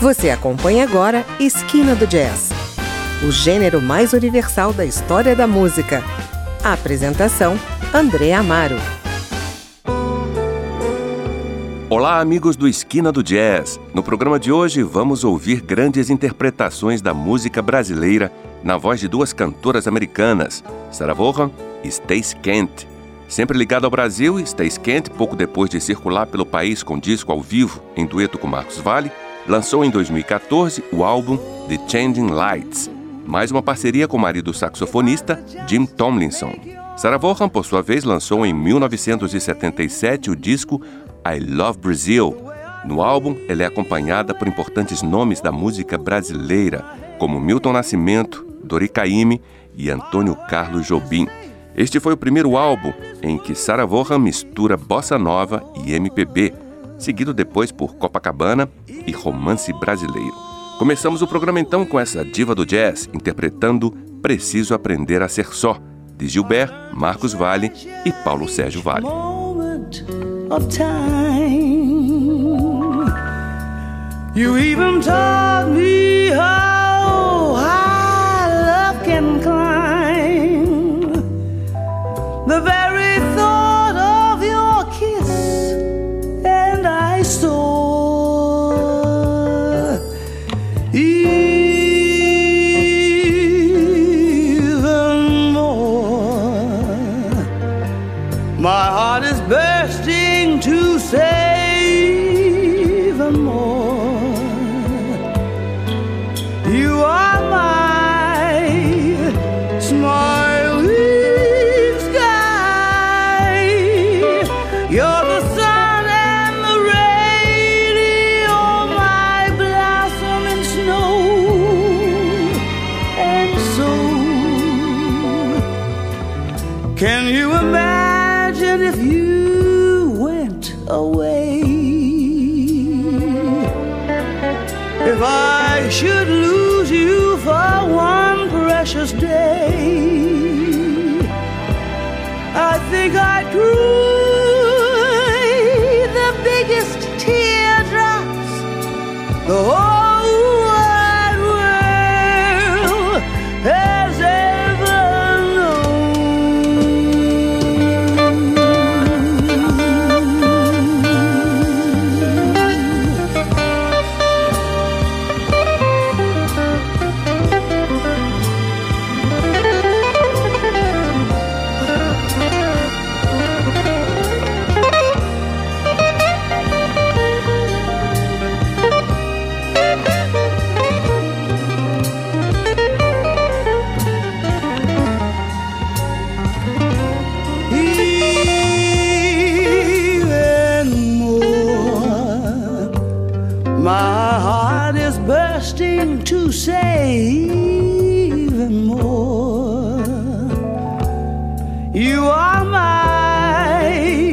Você acompanha agora Esquina do Jazz, o gênero mais universal da história da música. A apresentação, André Amaro. Olá, amigos do Esquina do Jazz. No programa de hoje vamos ouvir grandes interpretações da música brasileira na voz de duas cantoras americanas, Sarah Vaughan e Stacey Kent. Sempre ligado ao Brasil, Stacey Kent, pouco depois de circular pelo país com disco ao vivo em dueto com Marcos Valle, lançou em 2014 o álbum The Changing Lights, mais uma parceria com o marido saxofonista Jim Tomlinson. Sarah Vaughan, por sua vez, lançou em 1977 o disco I Love Brazil. No álbum, ela é acompanhada por importantes nomes da música brasileira, como Milton Nascimento, Dori Caymmi e Antônio Carlos Jobim. Este foi o primeiro álbum em que Sarah Vaughan mistura bossa nova e MPB, seguido depois por Copacabana e romance brasileiro. Começamos o programa então com essa diva do jazz interpretando Preciso Aprender a Ser Só, de Gilberto, Marcos Valle e Paulo Sérgio Valle. Of time, you even taught me how high love can climb. The very thought of your kiss, and I saw even more. My heart is bursting to say even more. You are my smiling sky. You're the sun and the rain. You're my blossom and snow. And so, can you imagine if you went away? If I should lose you for one precious day, I think I'd cry the biggest teardrops the whole wide world has ever to say even more. You are my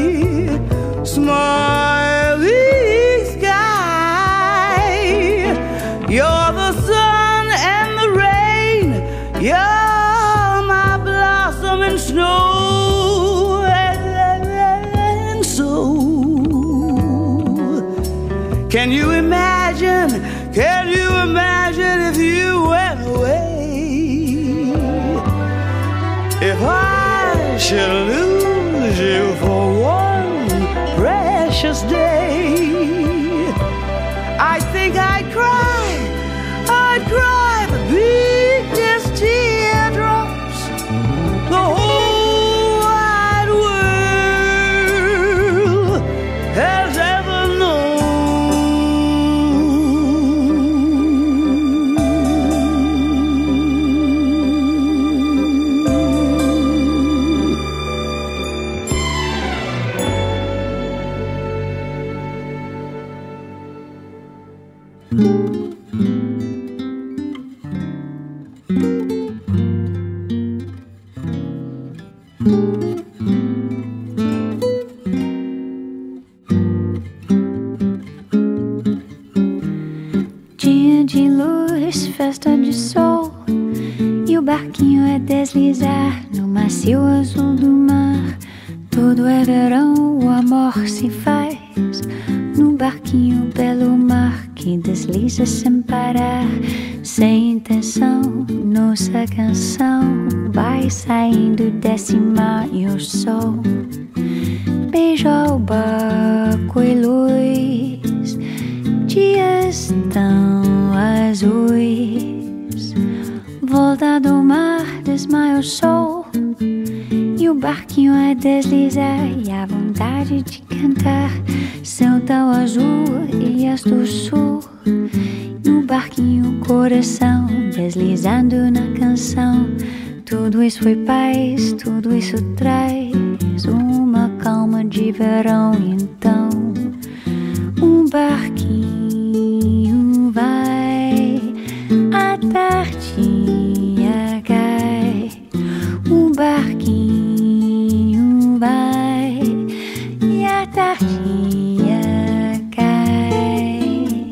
smiling sky. You're the sun and the rain. You're my blossom and snow. And so, can you imagine? Can you imagine if you went away? If I should lose you for one precious day, I think I'd cry the biggest teardrops the whole wide world has ever known. Dia de luz, festa de sol, e o barquinho é deslizar no macio azul do mar. Todo é verão, o amor se faz no barquinho belo mar que desliza sem parar, sem intenção. Nossa canção vai saindo desse mar e o sol beija o barco e luz, dias tão azuis. Volta do mar, desmaia o sol e o barquinho a deslizar, e a vontade de cantar. Céu tão azul e as do sul, e o barquinho coração deslizando na canção. Tudo isso foi paz, tudo isso traz uma calma de verão. Então um barquinho vai, a tardinha cai. Um barquinho vai e a tardinha cai.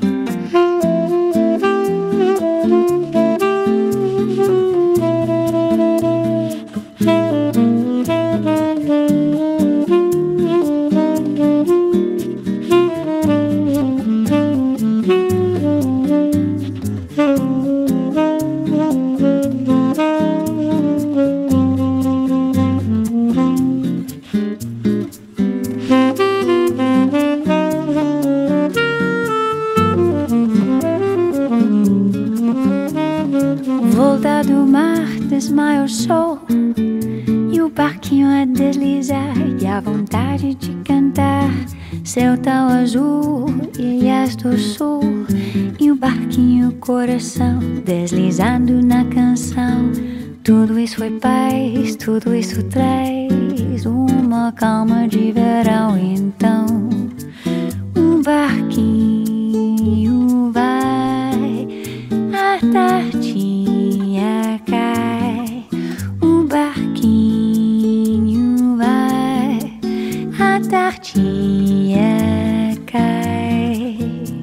Volta do mar, desmaia o sol e o barquinho a deslizar, e a vontade de cantar. Céu tão azul e as do sul, e o barquinho coração deslizando na canção. Tudo isso foi paz, tudo isso traz uma calma de verão. Então um barquinho vai, a tardinha cai. Um barquinho vai, a tardinha cai.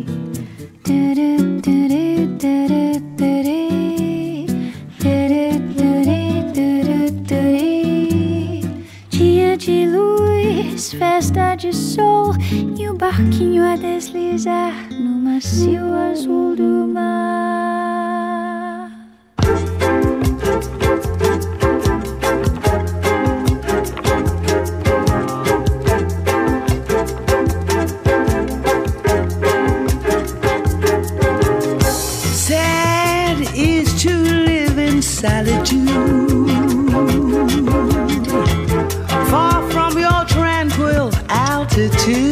Dia de luz, festa de sol, e o barquinho a deslizar no macio azul do mar. Sad is to live in solitude, far from your tranquil altitude.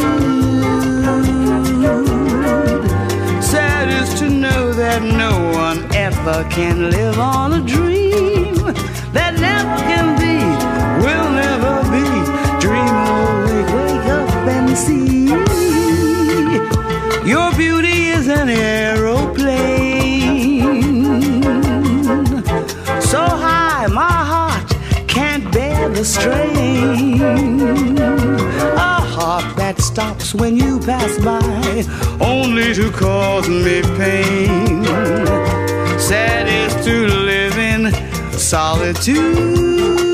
Sad is to know that no one ever can live on a dream that never can be, will never be. Dream awake, wake up and see. Your beauty is an aeroplane, so high my heart can't bear the strain. A heart that stops when you pass by, only to cause me pain. Sad is to live in solitude.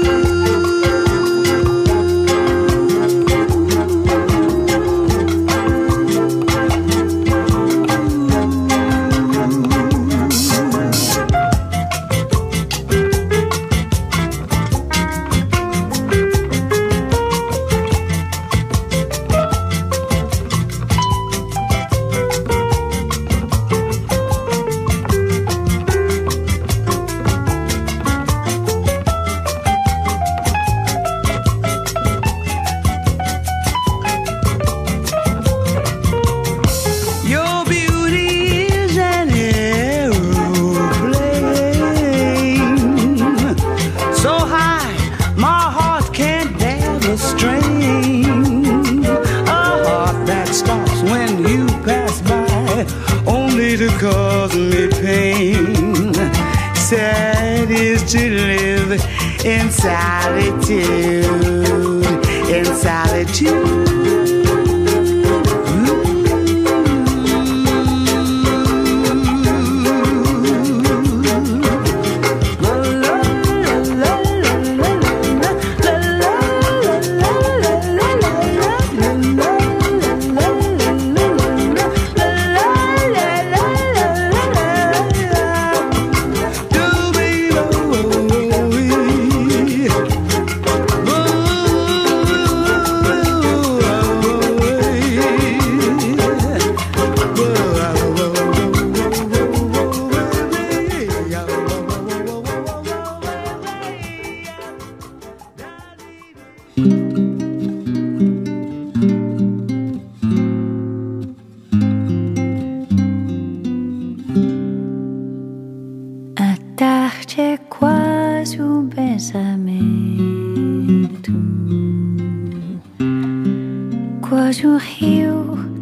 Cause me pain. Sad is to live in solitude, in solitude.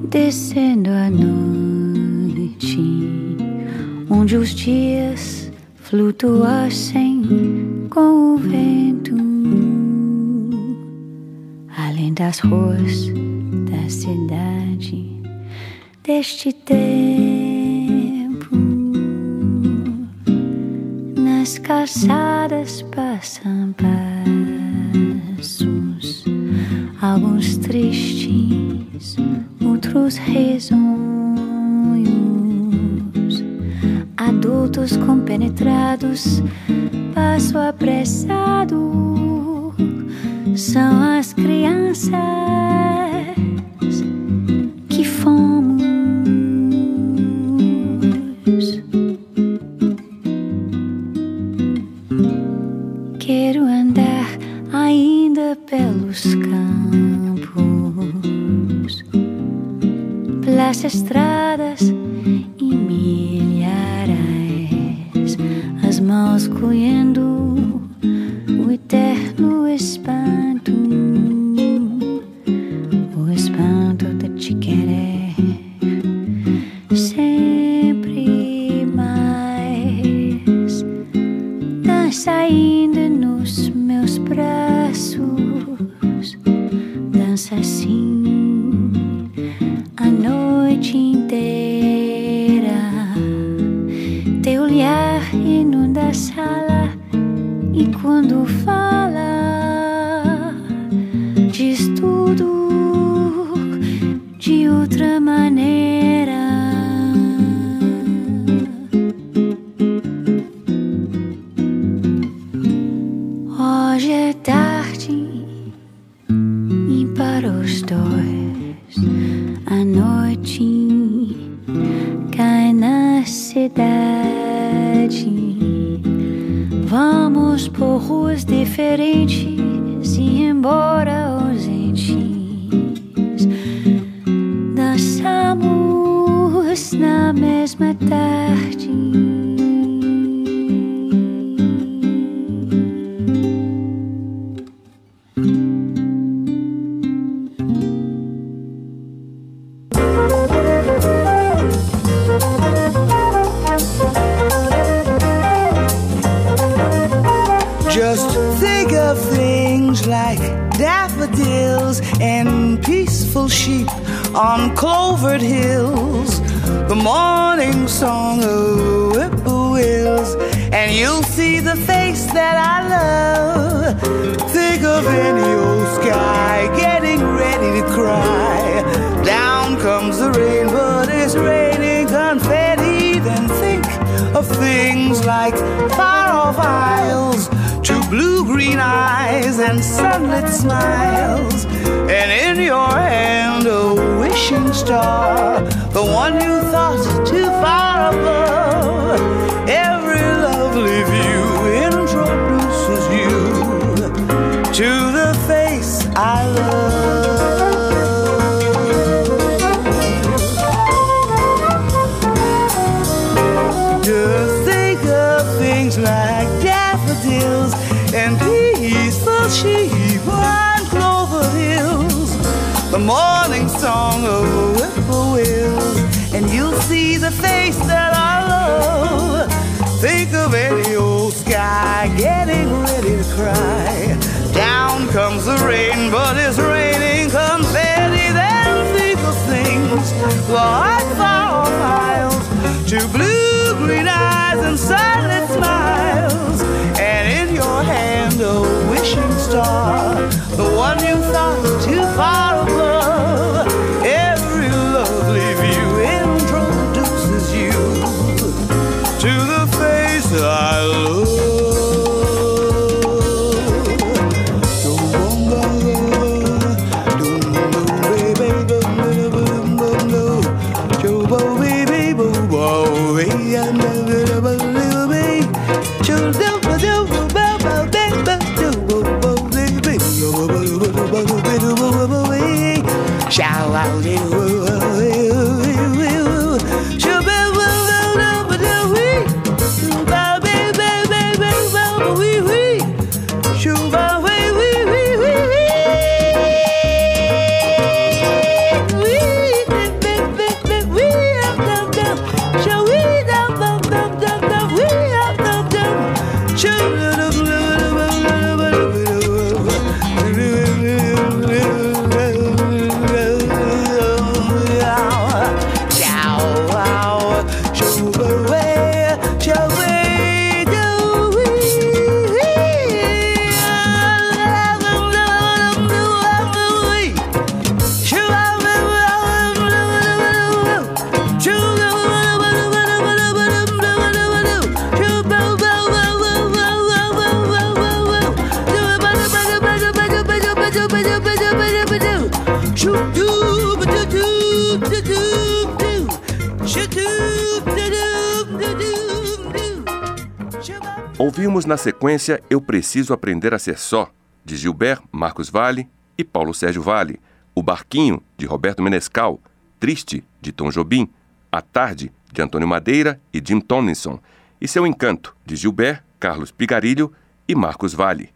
descendo a noite, onde os dias flutuassem com o vento, além das ruas da cidade deste tempo. Nas calçadas passam passos, alguns tristes, outros risonhos, adultos compenetrados, passo apressado, são as crianças que fomos. Quero andar ainda pelos campos, pelas estradas e milharais, as mãos colhendo o eterno espanto, o espanto de te querer sempre mais. Dança ainda nos meus braços, dança assim a noite inteira. Teu olhar inunda a sala e quando fala diz tudo de outra maneira. Hoje é tarde e para os dois a noite cai na cidade. Vamos por ruas diferentes e embora ausentes, dançamos na mesma tarde. Just think of things like daffodils and peaceful sheep on clovered hills, the morning song of whippoorwills, and you'll see the face that I love. Think of any old sky getting ready to cry. Down comes the rain, but it's raining confetti. Then think of things like far-off isles, two blue-green eyes and sunlit smiles, and in your hand a wishing star, the one you thought too far above. Every lovely view introduces you to the face I love. Just think of things like daffodils and peaceful sheep on clover hills, the morning song of whippoorwills, and you'll see the face that I love. Think of any old sky getting ready to cry. Down comes the rain, but it's raining confetti. Then think of things like far-off isles, two blue-green eyes and silent smiles, and in your hand a wishing star, the one you thought too far above. Every lovely view introduces you to the face I love. Ouvimos na sequência Eu Preciso Aprender a Ser Só, de Gilberto Marcos Valle e Paulo Sérgio Valle, O Barquinho, de Roberto Menescal, Triste, de Tom Jobim, A Tarde, de Antônio Madeira e Jim Tomlinson, e Seu Encanto, de Gilberto, Carlos Pigarilho e Marcos Valle.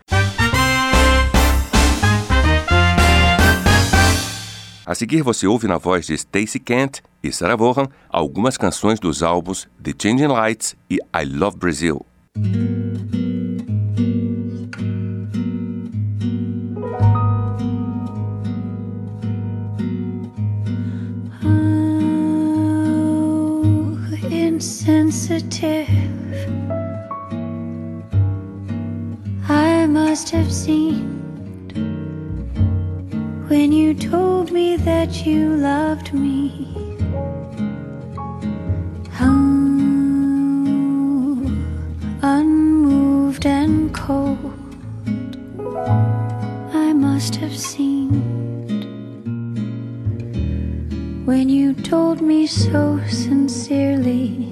A seguir você ouve na voz de Stacey Kent e Sarah Vaughan algumas canções dos álbuns The Changing Lights e I Love Brazil. Insensitive, I must have seemed when you told me that you loved me. How unmoved and cold I must have seemed when you told me so sincerely.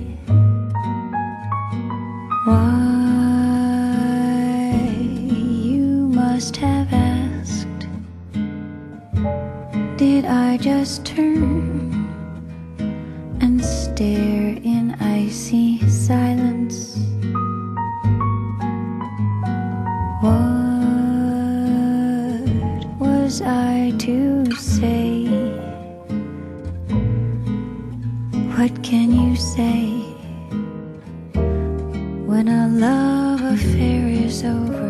Why, you must have asked, did I just turn and stare in icy silence? What was I to say? What can you say when a love affair is over?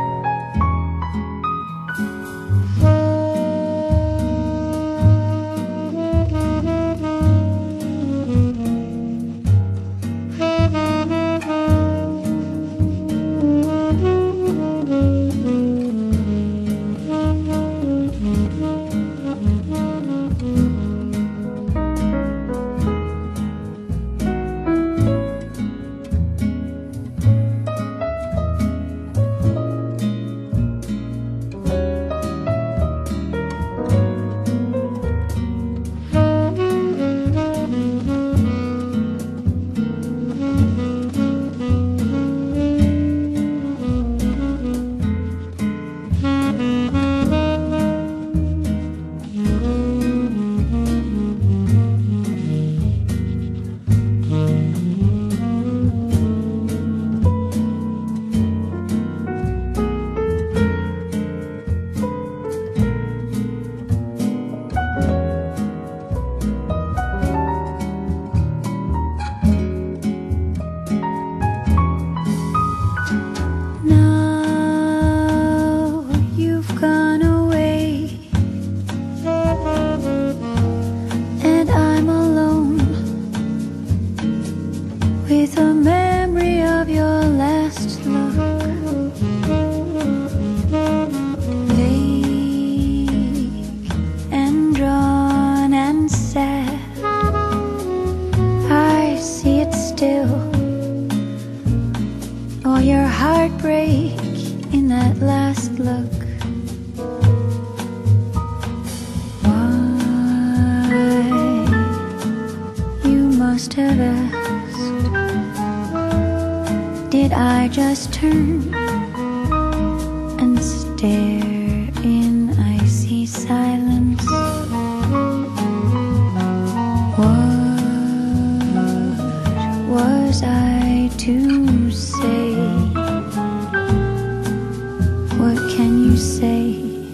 Did I just turn and stare in icy silence? What was I to say? What can you say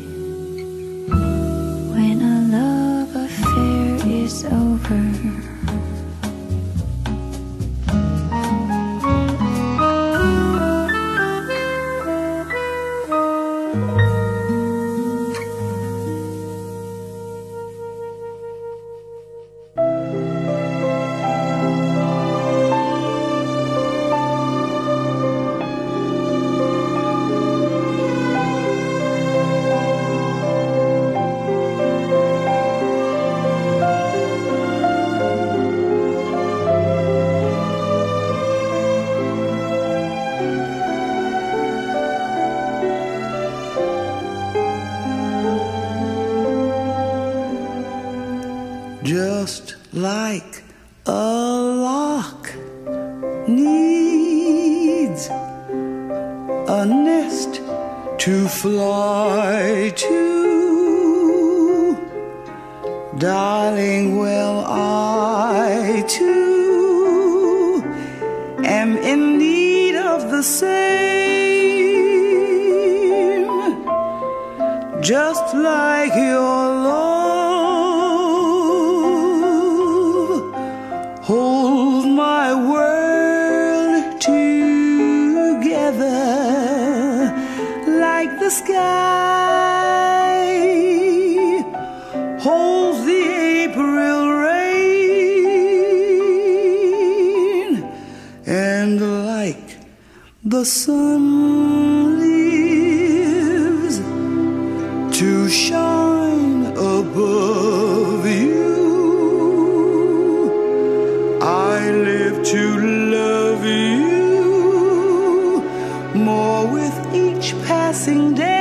when a love affair is over? Just like a lock needs to fly to. Darling, well, I too am in need of the same, just like your love holds my world together like the sky holds the April rain, and like the sun lives to shine above you, I live to love you more with each passing day.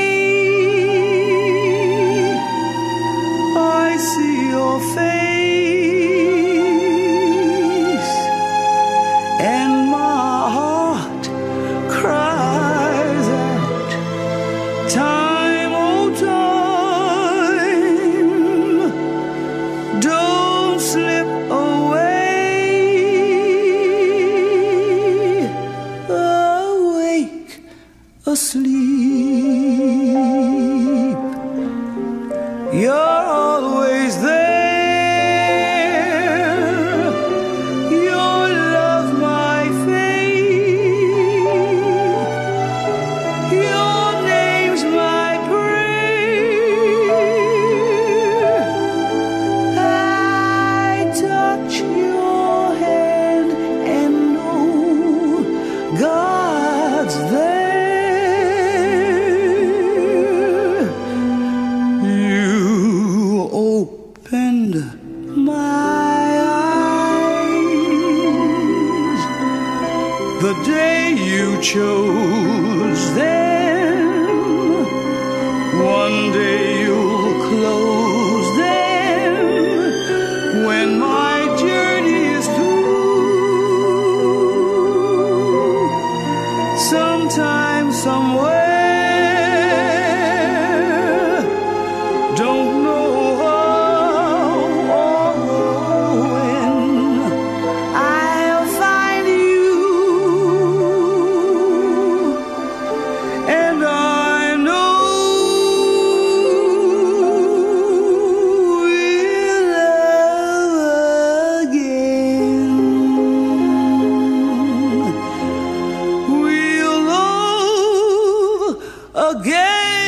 I see your face and my heart cries out, time, oh time, don't slip away. Awake, asleep, you're always there. Your love, my faith. Your name's my prayer. I touch your hand and know God's there. You opened my eyes the day you chose them. One day you'll close them when my journey is through. Sometime, somewhere, don't know how or when, I'll find you, and I know we'll love again. We'll love again.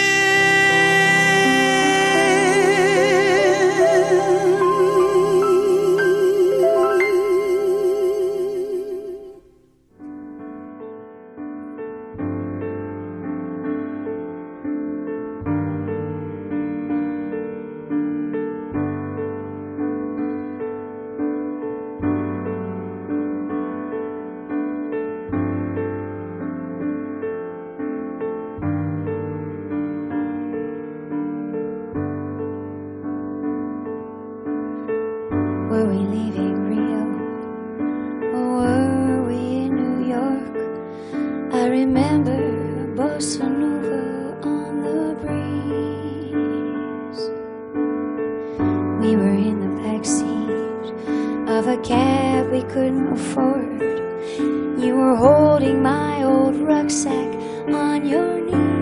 Were we leaving Rio, or were we in New York? I remember bossa nova on the breeze. We were in the backseat of a cab we couldn't afford. You were holding my old rucksack on your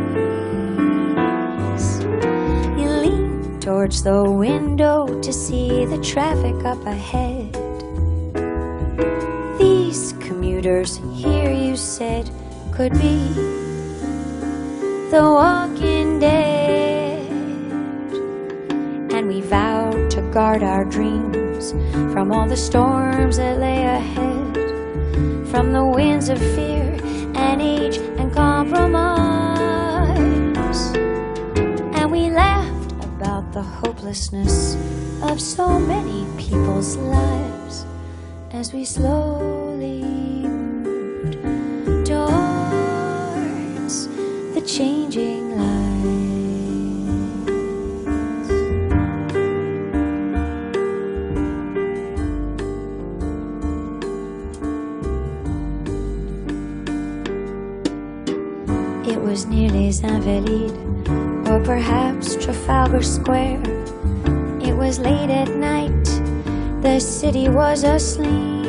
knees. You leaned towards the window to see the traffic up ahead. These commuters here, you said, could be the walking dead. And we vowed to guard our dreams from all the storms that lay ahead, from the winds of fear and age and compromise. And we laughed about the hopelessness of so many people's lives as we slowly moved towards the changing lights. It was near Les Invalides, or perhaps Trafalgar Square. It was late at night, the city was asleep.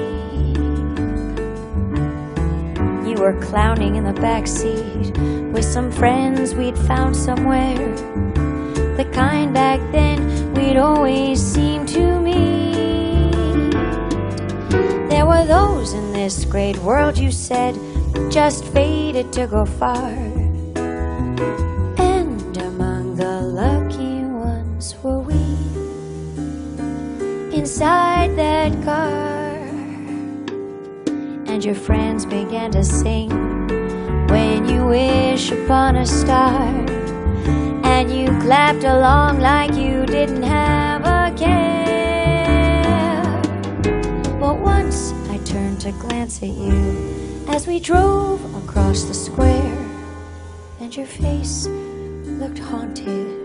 You were clowning in the backseat with some friends we'd found somewhere, the kind back then we'd always seem to meet. There were those in this great world, you said, just fated to go far, and among the lucky ones were we. Inside that car, and your friends began to sing When You Wish Upon a Star, and you clapped along like you didn't have a care. But once I turned to glance at you as we drove across the square, and your face looked haunted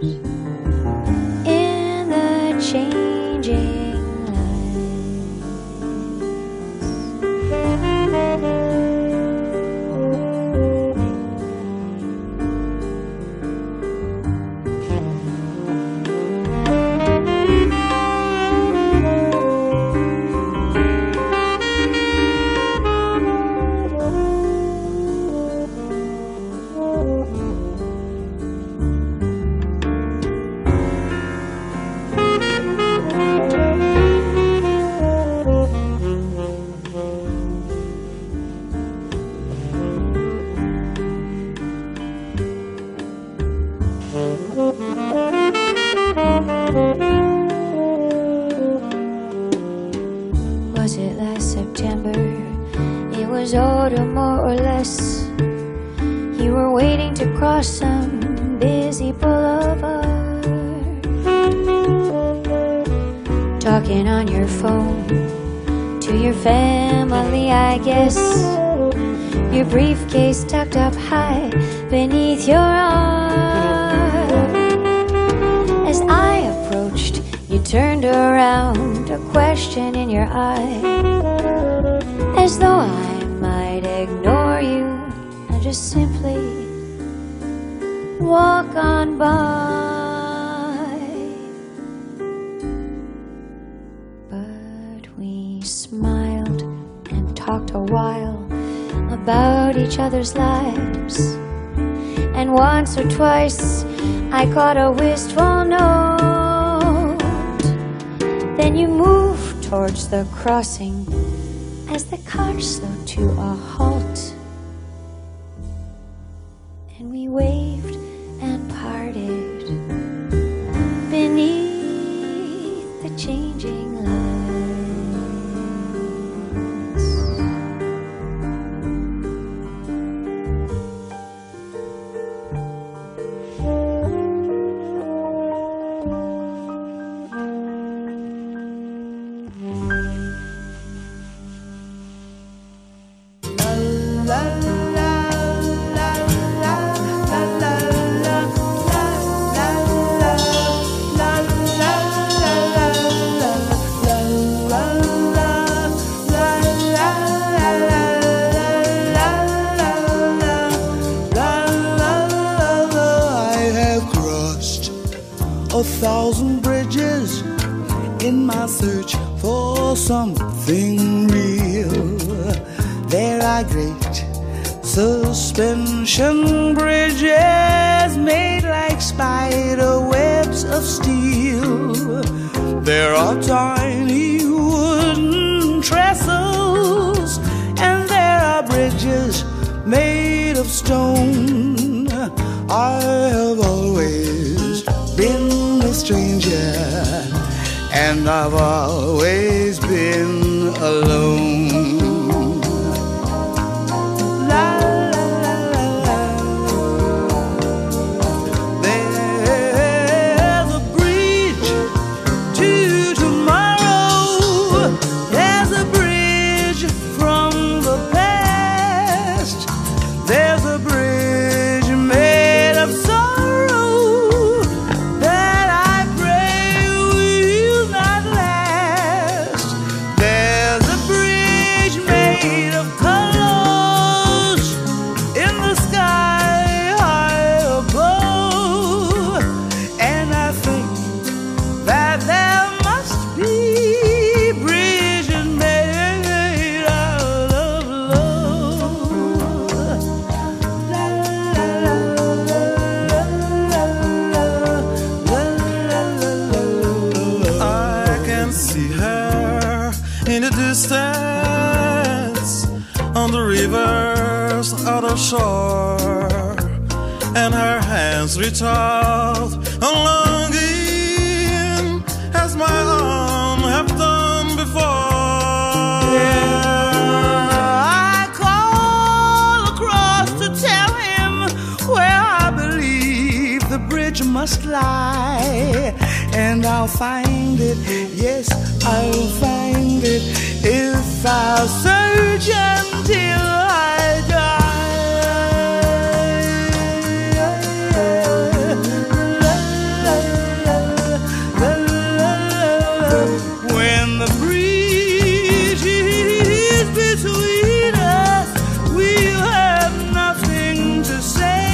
in the changing some busy boulevard, talking on your phone to your family, I guess, your briefcase tucked up high beneath your arm. As I approached, you turned around, a question in your eye, as though I might ignore you and just simply walk on by. But we smiled and talked a while about each other's lives, and once or twice I caught a wistful note. Then you moved towards the crossing as the car slowed to a halt, and we waved and parted beneath the changing lights. Something real. There are great suspension bridges made like spider webs of steel. There are tiny wooden trestles, and there are bridges made of stone. I have always been a stranger, and I've always been alone. La, la, la, la, la. There's a bridge to tomorrow. There's a bridge from the past. There's a bridge made of sorrow that I pray will not last. There's a bridge on the river's other shore, and her hands reach out a longing as my own have done before. I call across to tell him where I believe the bridge must lie, and I'll find it, yes, I'll find it if I'll search until I die. When the breeze is between us, we'll have nothing to say.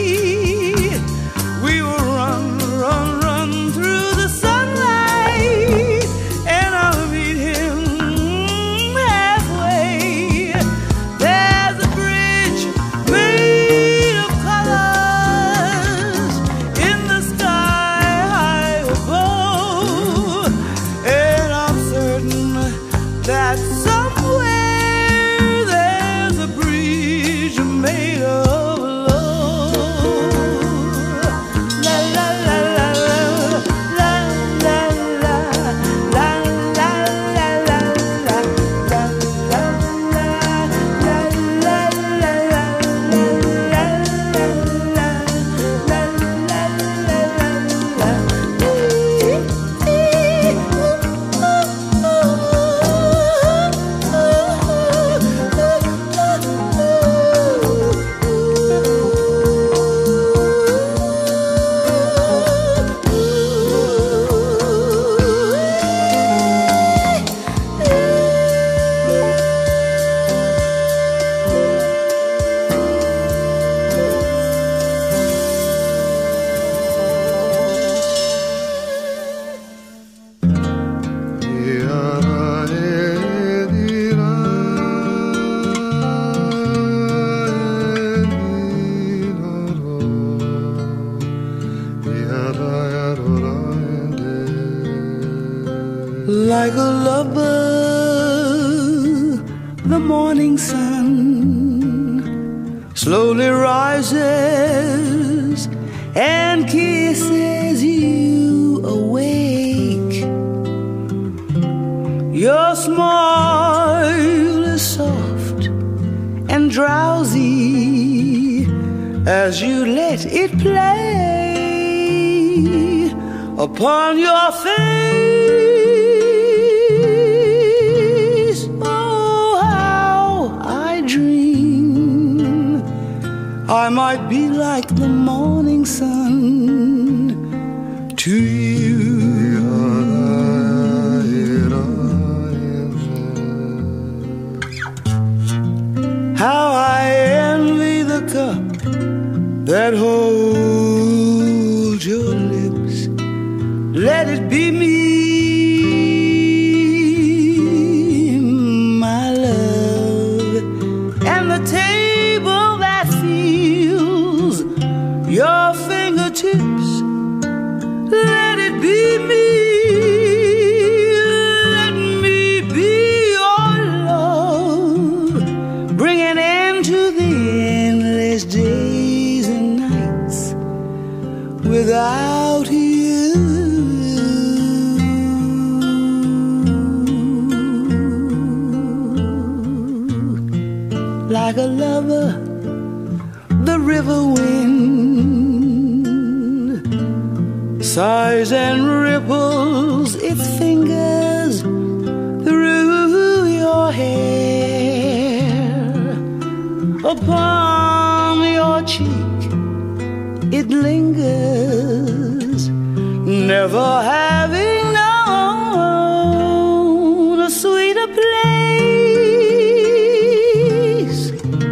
We will run, run, run through the sunlight, and I'll meet him halfway. There's a bridge made of colors in the sky high above, and I'm certain that somewhere there's a bridge made of love. La la la la la la la la la la la la Like a lover, the morning sun slowly rises and kisses you awake. Your smile is soft and drowsy as you let it play upon your face. Oh, how I dream I might be like the morning sun to you. How I envy the cup that holds your lips. Let it be me, my love, and the table that feels your fingertips. Let it be me. Let me be your love. Bring an end to the endless days and nights without you. Like a lover, the river wind sighs and ripples its fingers through your hair. Upon your cheek it lingers, never having known a sweeter place.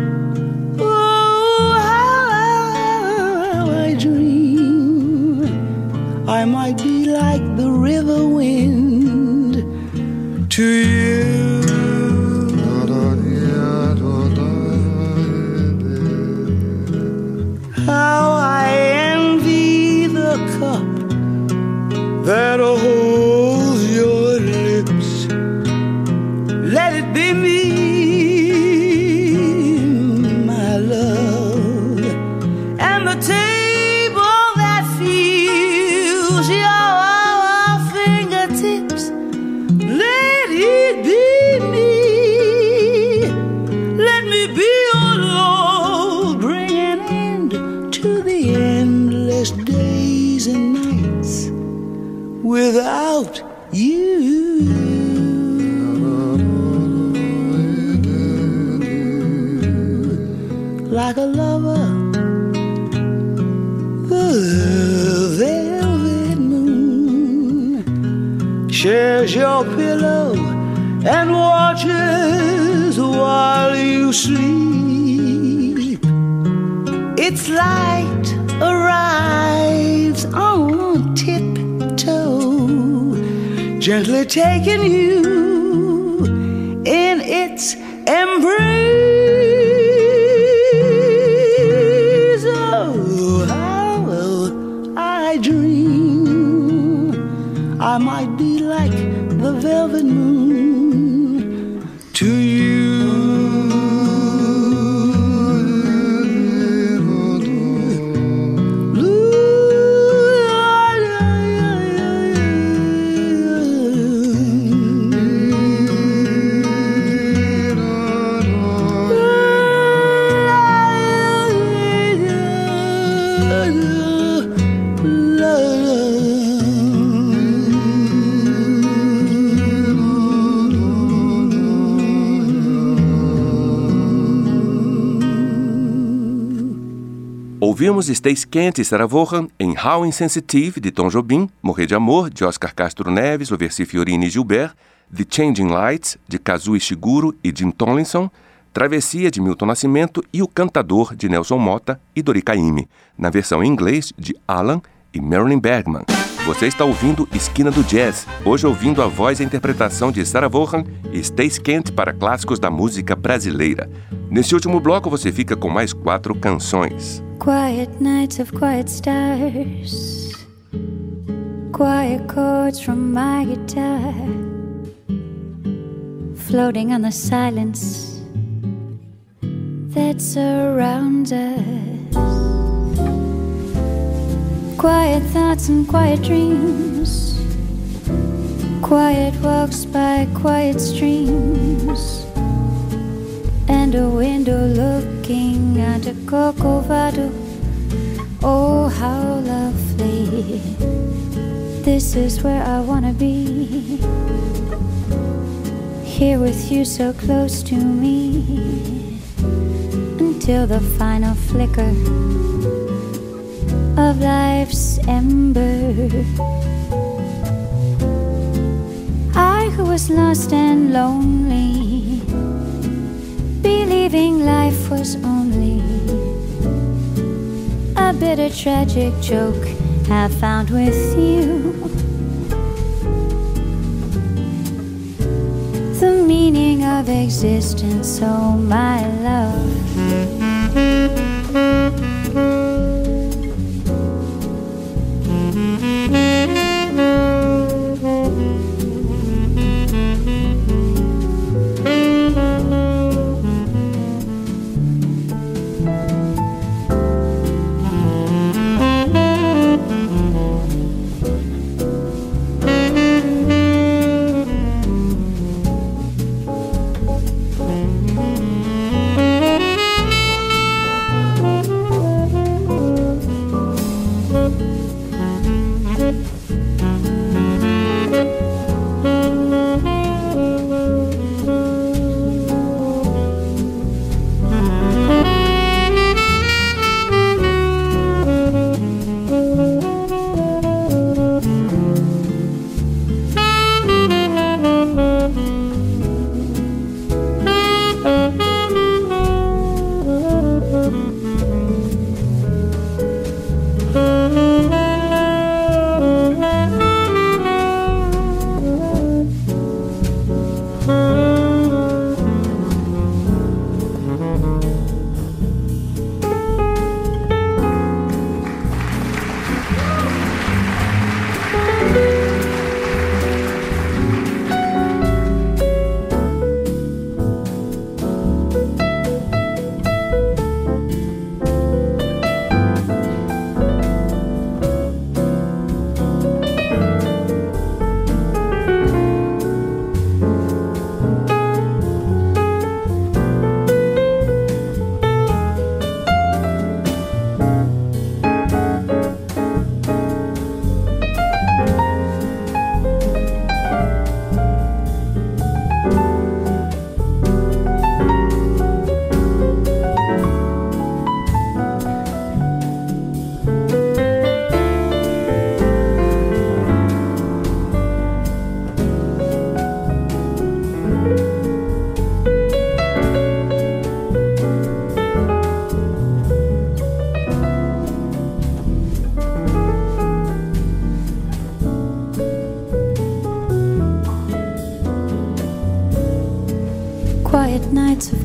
Oh, how I dream I might be like the river wind to you. How I envy the cup that like a lover. The velvet moon shares your pillow and watches while you sleep. Its light arrives on tiptoe, gently taking you in its embrace. Oh, how I dream I might be like the velvet moon to you. Ouvimos Stacy Kent e Sarah Vaughan em How Insensitive, de Tom Jobim, Morrer de Amor, de Oscar Castro Neves, Oversi Fiorini e Gilbert, The Changing Lights, de Kazuo Ishiguro e Jim Tomlinson, Travessia, de Milton Nascimento e O Cantador, de Nelson Motta e Dori Caymmi, na versão em inglês de Alan e Marilyn Bergman. Você está ouvindo Esquina do Jazz, hoje ouvindo a voz e a interpretação de Sarah Vaughan e Stacy Kent para clássicos da música brasileira. Nesse último bloco você fica com mais 4 canções. Quiet nights of quiet stars, quiet chords from my guitar, floating on the silence that surrounds us. Quiet thoughts and quiet dreams, quiet walks by quiet streams, and a window looking onto Corcovado. Oh, how lovely. This is where I wanna be, here with you so close to me, until the final flicker of life's ember. I who was lost and lonely, believing life was only a bitter tragic joke, have found with you the meaning of existence, oh my love.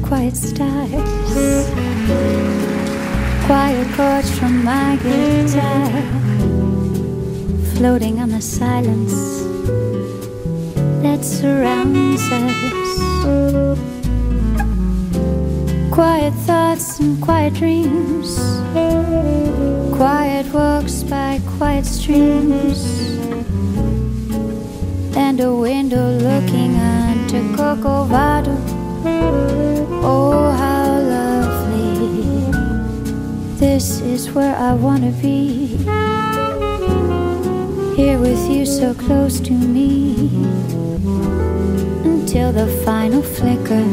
quiet stars, quiet chords from my guitar, floating on the silence that surrounds us. Quiet thoughts and quiet dreams, quiet walks by quiet streams, and a window looking onto Corcovado. Oh, how lovely. This is where I want to be, here with you so close to me, until the final flicker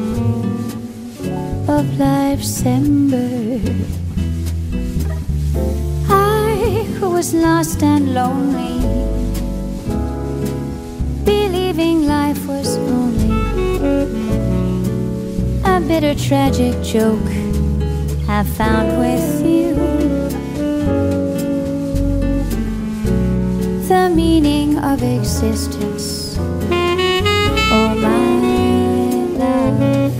of life's ember. I, who was lost and lonely, believing life was only a bitter tragic joke, have found with you the meaning of existence. Oh, my love.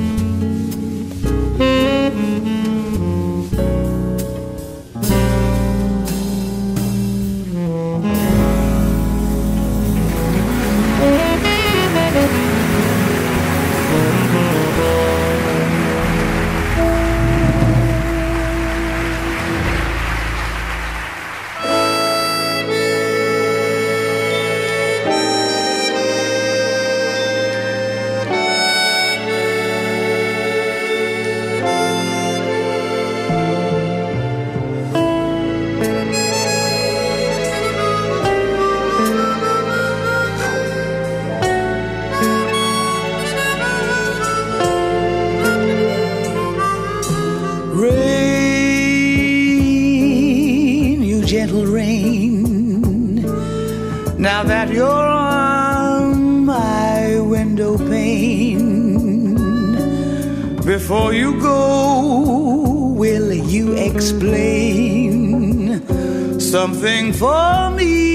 Now that you're on my window pane, before you go, will you explain something for me?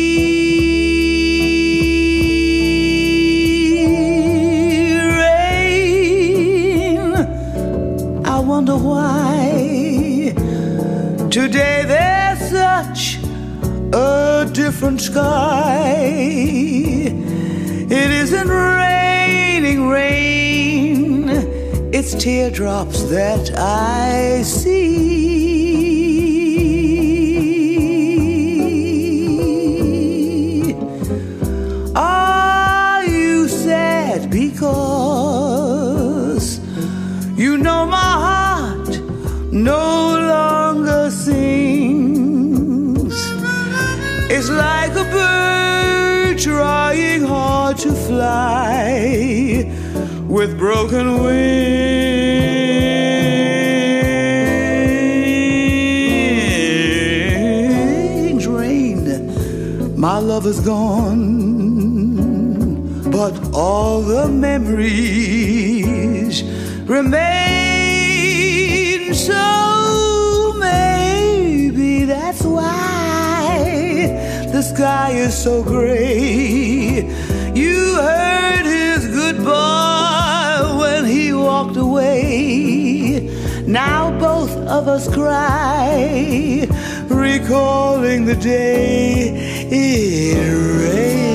Rain, I wonder why today there's such a different sky. It isn't raining rain, it's teardrops that I see. Are you sad because you know my heart no longer sings? It's like a bird trying hard to fly with broken wings. Rain, my love is gone, but all the memories remain. So maybe that's why the sky is so gray. You heard his goodbye when he walked away. Now both of us cry, recalling the day it rained.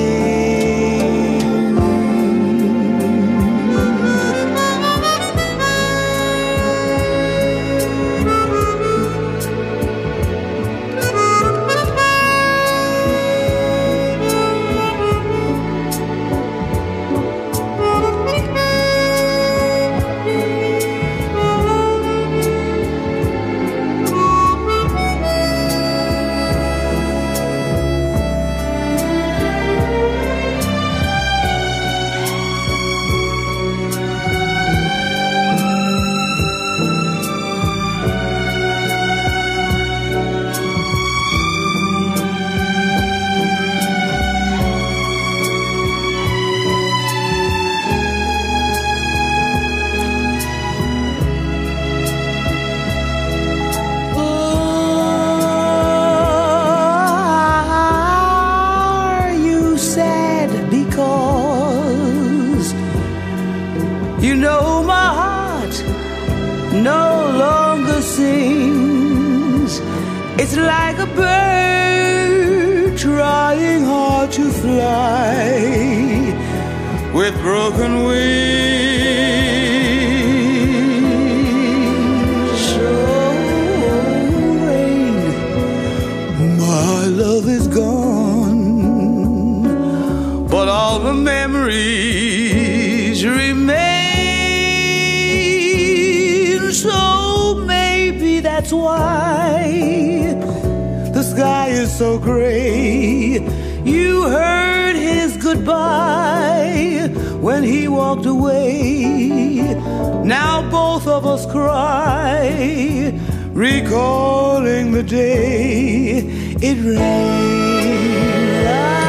no longer sings. It's like a bird trying hard to fly with broken wings. So rain, my love is gone, but all the memories remain. So maybe that's why the sky is so gray. You heard his goodbye when he walked away. Now both of us cry, recalling the day it rained.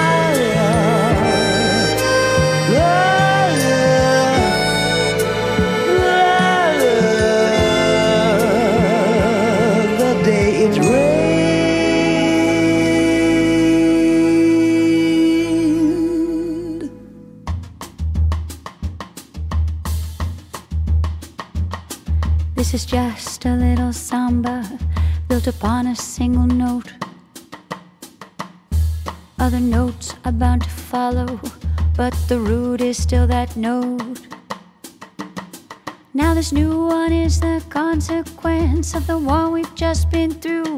The day it rained. This is just a little samba built upon a single note. Other notes are bound to follow, but the root is still that note. Now this new one is the consequence of the one we've just been through.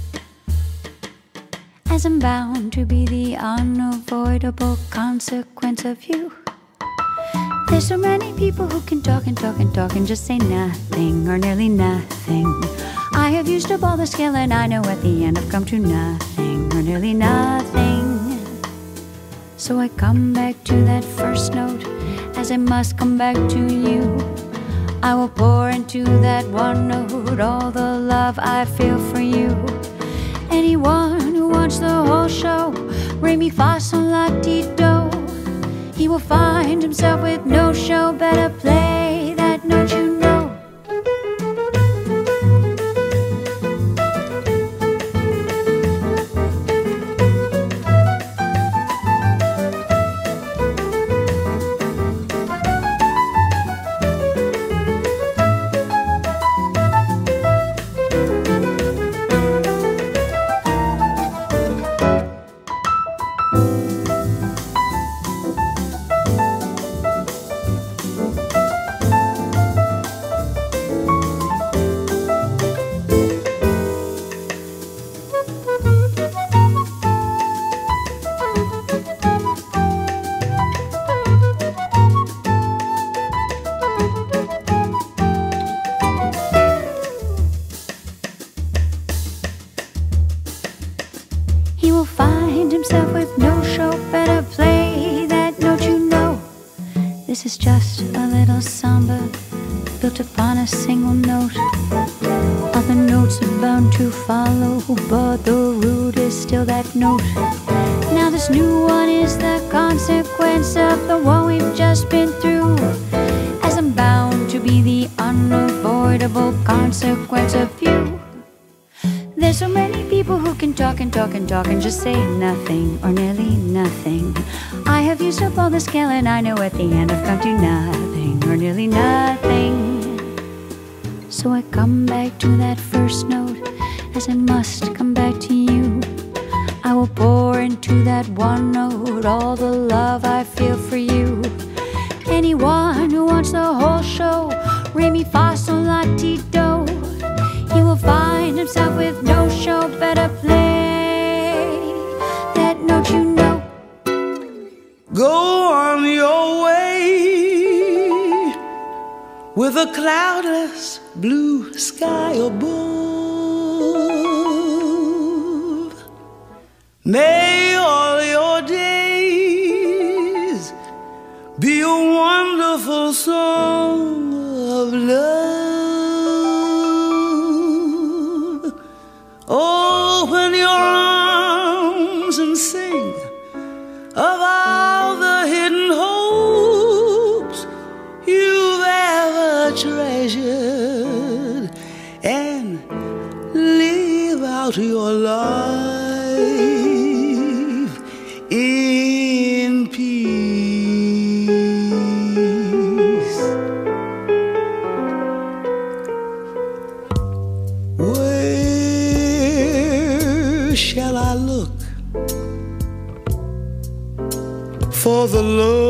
As I'm bound to be the unavoidable consequence of you. There's so many people who can talk and talk and talk and just say nothing or nearly nothing. I have used up all the skill and I know at the end I've come to nothing or nearly nothing. So I come back to that first note, as I must come back to you. I will pour into that one note all the love I feel for you. Anyone who wants the whole show, re mi fa sol la ti do, he will find himself with no show. Better play that note, you know. He will find himself with no show. Better play that note, you know. This is just a little samba built upon a single note. Other notes are bound to follow, but the root is still that note. Now this new one is the consequence of the one we've just been through. As I'm bound to be the unavoidable consequence of you. There's so many people who can talk and talk and talk and just say nothing or nearly nothing. I have used up all the skill and I know at the end I've come to nothing or nearly nothing. So I come back to that first note, as I must come back to you. I will pour into that one note all the love I feel for you. Anyone who wants the whole show, re mi fa sol la ti do, he will find himself with no show. Better play that note, you know. Go on your way with a cloudless blue sky above. May all your days be a wonderful song of love. Open your arms and sing of all the hidden hopes you've ever treasured, and live out your life in peace. Where shall I look for the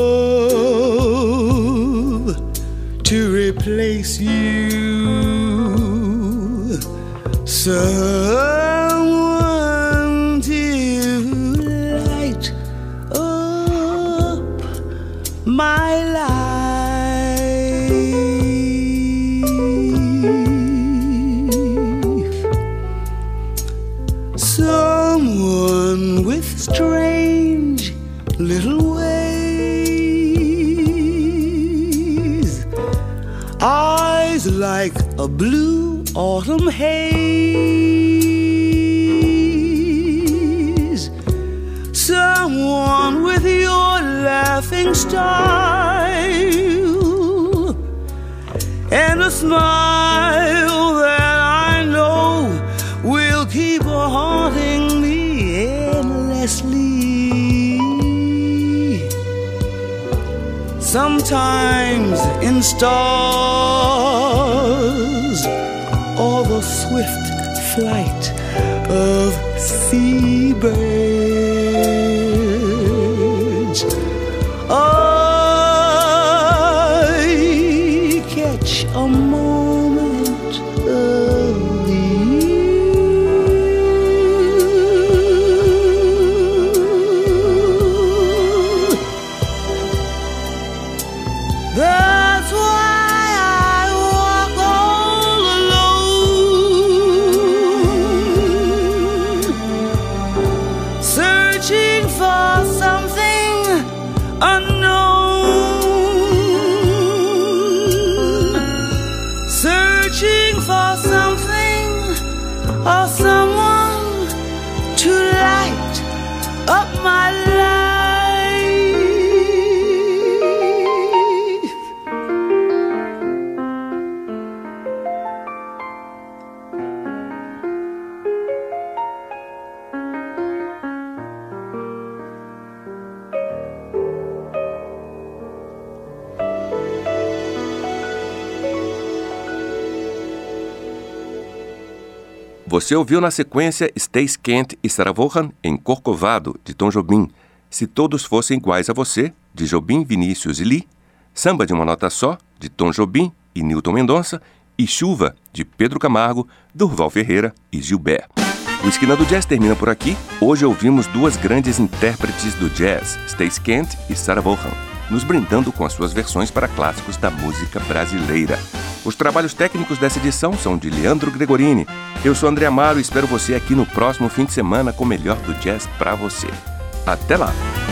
love to replace you? Someone to light up my life. Someone with strange little ways, eyes like a blue autumn haze. Someone with your laughing style and a smile that I know will keep haunting me endlessly. Sometimes in stars or the swift flight of seabirds, I catch a moment of you. That's why I walk all alone, searching for something unknown, searching for something or someone to light up my life. Você ouviu na sequência Stace Kent e Sarah Vaughan em Corcovado, de Tom Jobim, Se Todos Fossem Iguais a Você, de Jobim, Vinícius e Lee, Samba de uma Nota Só, de Tom Jobim e Nilton Mendonça, e Chuva, de Pedro Camargo, Durval Ferreira e Gilberto. O Esquina do Jazz termina por aqui. Hoje ouvimos duas grandes intérpretes do jazz, Stace Kent e Sarah Vaughan, nos brindando com as suas versões para clássicos da música brasileira. Os trabalhos técnicos dessa edição são de Leandro Gregorini. Eu sou André Amaro e espero você aqui no próximo fim de semana com o melhor do jazz para você. Até lá!